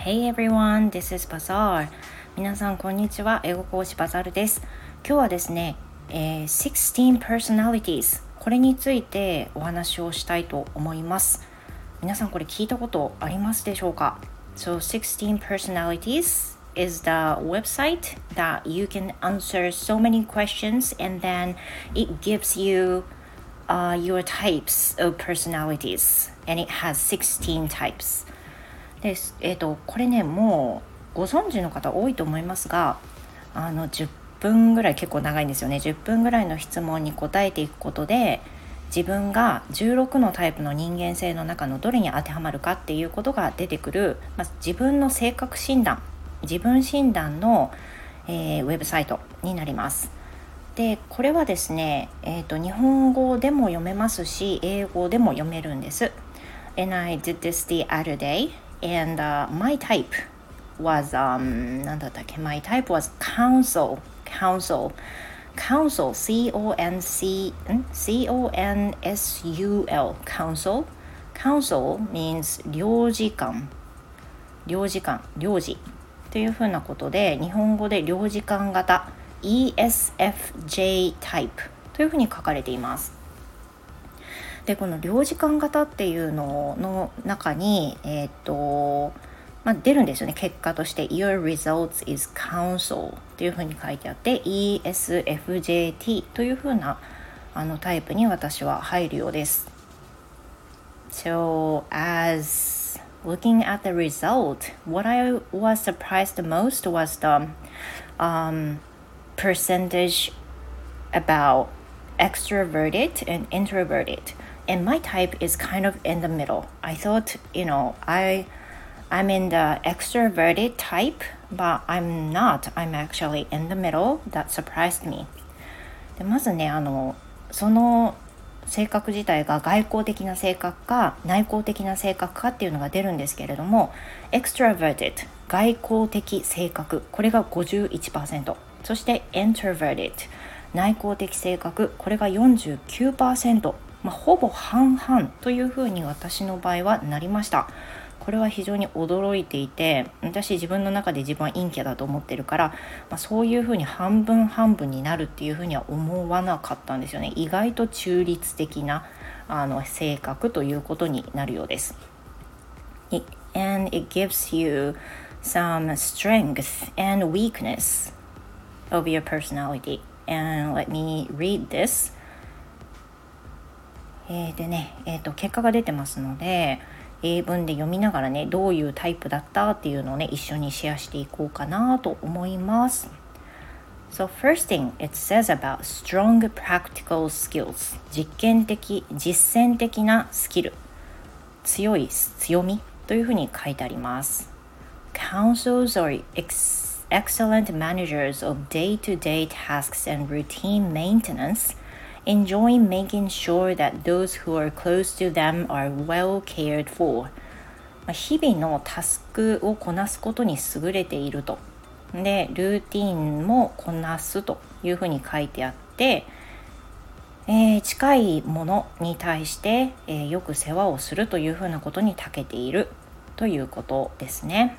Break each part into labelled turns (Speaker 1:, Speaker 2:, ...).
Speaker 1: Hey everyone, this is Bazaar. 皆さんこんにちは。英語講師バザールです。今日はですね、16 personalities これについてお話をしたいと思います。皆さんこれ聞いたことありますでしょうか？ So 16 personalities is the website that you can answer so many questions and then it gives you your types of personalities and it has 16 types です。これね、もうご存知の方多いと思いますが、10分ぐらい結構長いんですよね。10分ぐらいの質問に答えていくことで、自分が16のタイプの人間性の中のどれに当てはまるかっていうことが出てくる、自分の性格診断、自分診断の、ウェブサイトになります。で、これはですね、日本語でも読めますし、英語でも読めるんです。And I did this the other day, and、my type wasなんだったっけ？ My type was counsel, C-O-N-S-U-L, counsel means 領事というふうなことで、日本語で領事官型 ESFJ タイプというふうに書かれています。で、この領事官型っていうのの中に、出るんですよね。結果として Your results is counsel っていうふうに書いてあって、 ESFJT というふうなタイプに私は入るようです。 So as looking at the result, what I was surprised the most was the percentage about extroverted and introverted, and my type is kind of in the middle. I thought, I'm in the extroverted type, but I'm not. I'm actually in the middle. That surprised me. で、まずね、その性格自体が外向的な性格か内向的な性格かっていうのが出るんですけれども、 extroverted 外向的性格、これが 51%、 そして introverted 内向的性格、これが 49%、ほぼ半々というふうに私の場合はなりました。これは非常に驚いていて、私自分の中で自分は陰キャだと思ってるから、そういうふうに半分半分になるっていうふうには思わなかったんですよね。意外と中立的な性格ということになるようです。And it gives you some strength and weakness of your personality. And let me read this. でね、結果が出てますので、英文で読みながらね、どういうタイプだったっていうのをね、一緒にシェアしていこうかなと思います。So first thing it says about strong practical skills. 実践的なスキル、強みというふうに書いてあります。Counsels are excellent managers of day-to-day tasks and routine maintenance.Enjoy making sure that those who are close to them are well cared for. 日々のタスクをこなすことに優れていると。で、ルーティンもこなすというふうに書いてあって、近いものに対して、よく世話をするというふうなことに長けているということですね。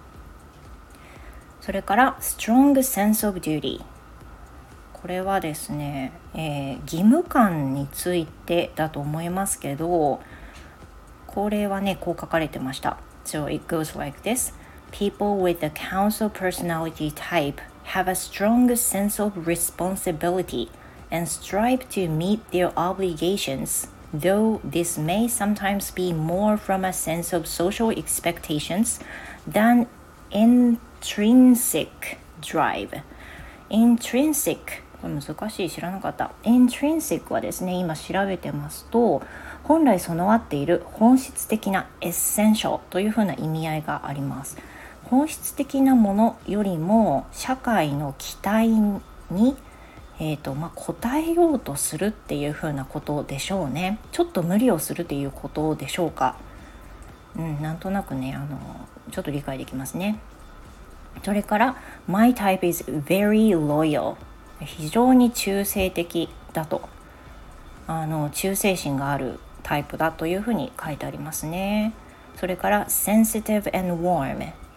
Speaker 1: それから strong sense of duty。これはですね、義務感についてだと思いますけど、これはね、こう書かれてました。So it goes like this. People with the counsel personality type have a strong sense of responsibility and strive to meet their obligations, though this may sometimes be more from a sense of social expectations than intrinsic drive.Intrinsic、これ難しい、知らなかった。Intrinsic はですね、今調べてますと、本来備わっている本質的な Essential というふうな意味合いがあります。本質的なものよりも社会の期待に、応えようとするっていうふうなことでしょうね。ちょっと無理をするっていうことでしょうか。なんとなくね、ちょっと理解できますね。それから My type is very loyal。 非常に忠誠的だと、忠誠心があるタイプだというふうに書いてありますね。それから sensitive and warm。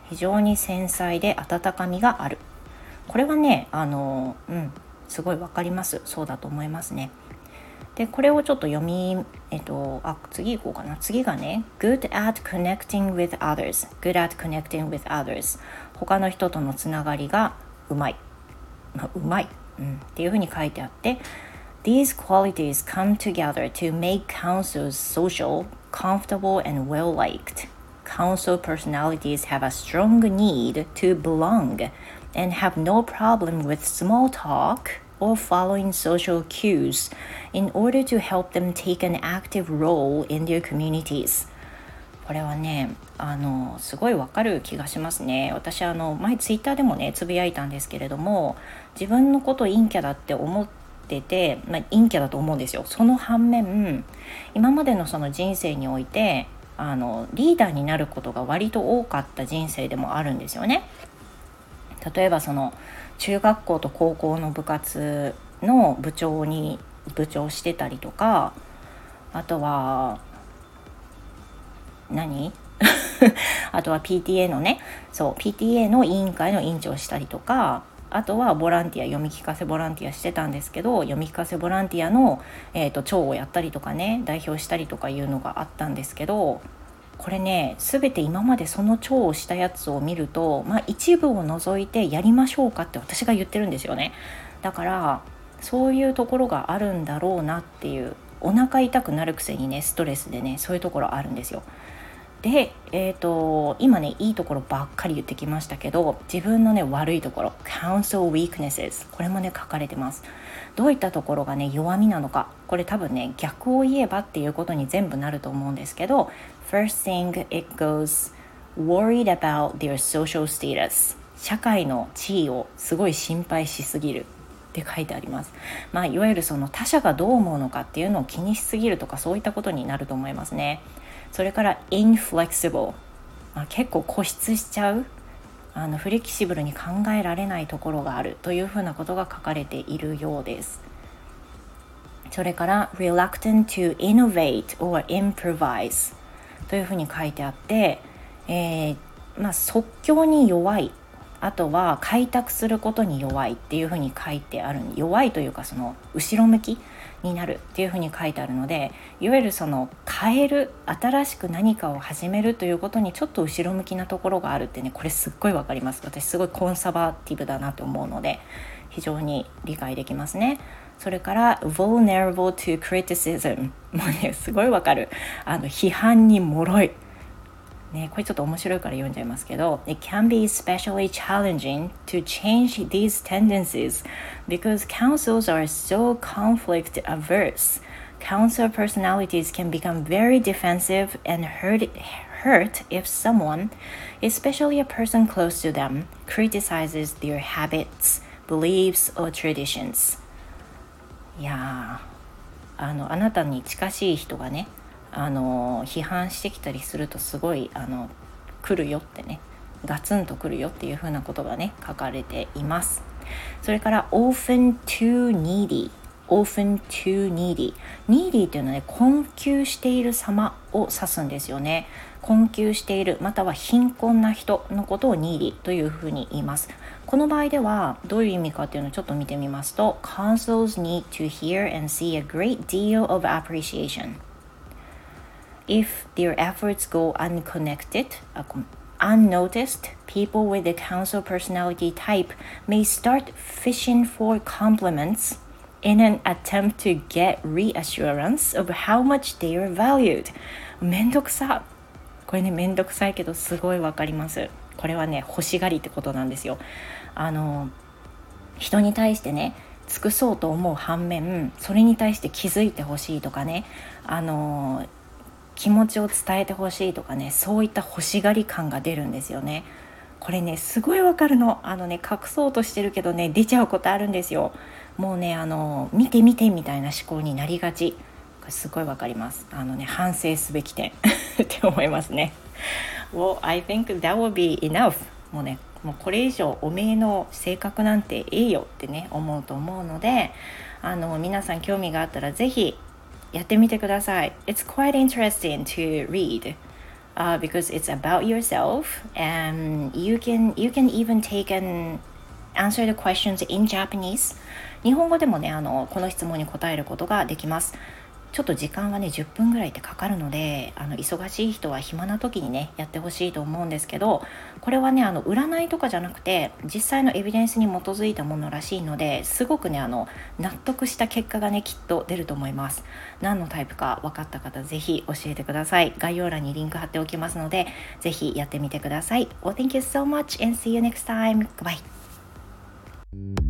Speaker 1: 非常に繊細で温かみがある。これはねすごいわかります。そうだと思いますね。でこれをちょっと次行こうかな。次がね good at connecting with others good at connecting with others 他の人とのつながりがうまい、っていうふうに書いてあって、 These qualities come together to make councils social, comfortable and well-liked. Council personalities have a strong need to belong and have no problem with small talk or following social cues in order to help them take an active role in their communities. これはねすごいわかる気がしますね。私前ツイッターでもねつぶやいたんですけれども、自分のこと陰キャだって思ってて、陰キャだと思うんですよ。その反面今までのその人生においてリーダーになることが割と多かった人生でもあるんですよね。例えばその中学校と高校の部活の部長してたりとか、あとはあとは PTA のね、PTA の委員会の委員長をしたりとか、あとはボランティア、読み聞かせボランティアしてたんですけど、読み聞かせボランティアの、長をやったりとかね、代表したりとかいうのがあったんですけど、これね全て今までその長をしたやつを見ると、一部を除いてやりましょうかって私が言ってるんですよね。だからそういうところがあるんだろうなっていう、お腹痛くなるくせにねストレスでねそういうところあるんですよ。で、今ねいいところばっかり言ってきましたけど、自分のね悪いところ Counsel weaknesses これもね書かれてます。どういったところがね弱みなのか、これ多分ね逆を言えばっていうことに全部なると思うんですけど、 First thing it goes worried about their social status 社会の地位をすごい心配しすぎるって書いてあります。いわゆるその他者がどう思うのかっていうのを気にしすぎるとか、そういったことになると思いますね。それから inflexible、結構固執しちゃう、フレキシブルに考えられないところがあるというふうなことが書かれているようです。それから reluctant to innovate or improvise というふうに書いてあって、即興に弱い、あとは開拓することに弱いっていうふうに書いてある。弱いというかその後ろ向きになるっていうふうに書いてあるので、いわゆるその変える、新しく何かを始めるということにちょっと後ろ向きなところがあるってね、これすっごいわかります。私すごいコンサバティブだなと思うので非常に理解できますね。それから vulnerable to criticism もうねすごいわかる。批判に脆いね、これちょっと面白いから読んじゃいますけど、 It can be especially challenging to change these tendencies because councils are so conflict averse. Council personalities can become very defensive and hurt if someone, especially a person close to them, criticizes their habits, beliefs, or traditions. いやあなたに近しい人がね批判してきたりするとすごい来るよってね、ガツンと来るよっていう風なことがね書かれています。それから often too needy often too needy needy っていうのはね困窮している様を指すんですよね。困窮しているまたは貧困な人のことを needy というふうに言います。この場合ではどういう意味かっていうのをちょっと見てみますと、 Councils need to hear and see a great deal of appreciation.If their efforts go unnoticed, people with the council personality type may start fishing for compliments in an attempt to get reassurance of how much they are valued. めんどくさ。これねめんどくさいけどすごいわかります。これはね欲しがりってことなんですよ。人に対してね尽くそうと思う反面、それに対して気づいてほしいとかね、気持ちを伝えてほしいとかね、そういった欲しがり感が出るんですよね。これねすごいわかるの。隠そうとしてるけどね出ちゃうことあるんですよ。もうね見て見てみたいな思考になりがち。これすごいわかります。反省すべき点って思いますね。Well, I think that would be enough. もうこれ以上おめえの性格なんてええよってね思うと思うので、皆さん興味があったらぜひやってみてください。It's quite interesting to read. because it's about yourself, and you can even take and answer the questions in Japanese. 日本語でもね、この質問に答えることができます。ちょっと時間はね10分ぐらいってかかるので、忙しい人は暇な時にねやってほしいと思うんですけど、これはね占いとかじゃなくて実際のエビデンスに基づいたものらしいので、すごくね納得した結果がねきっと出ると思います。何のタイプか分かった方ぜひ教えてください。概要欄にリンク貼っておきますので、ぜひやってみてください。Well, thank you so much and see you next time. Goodbye.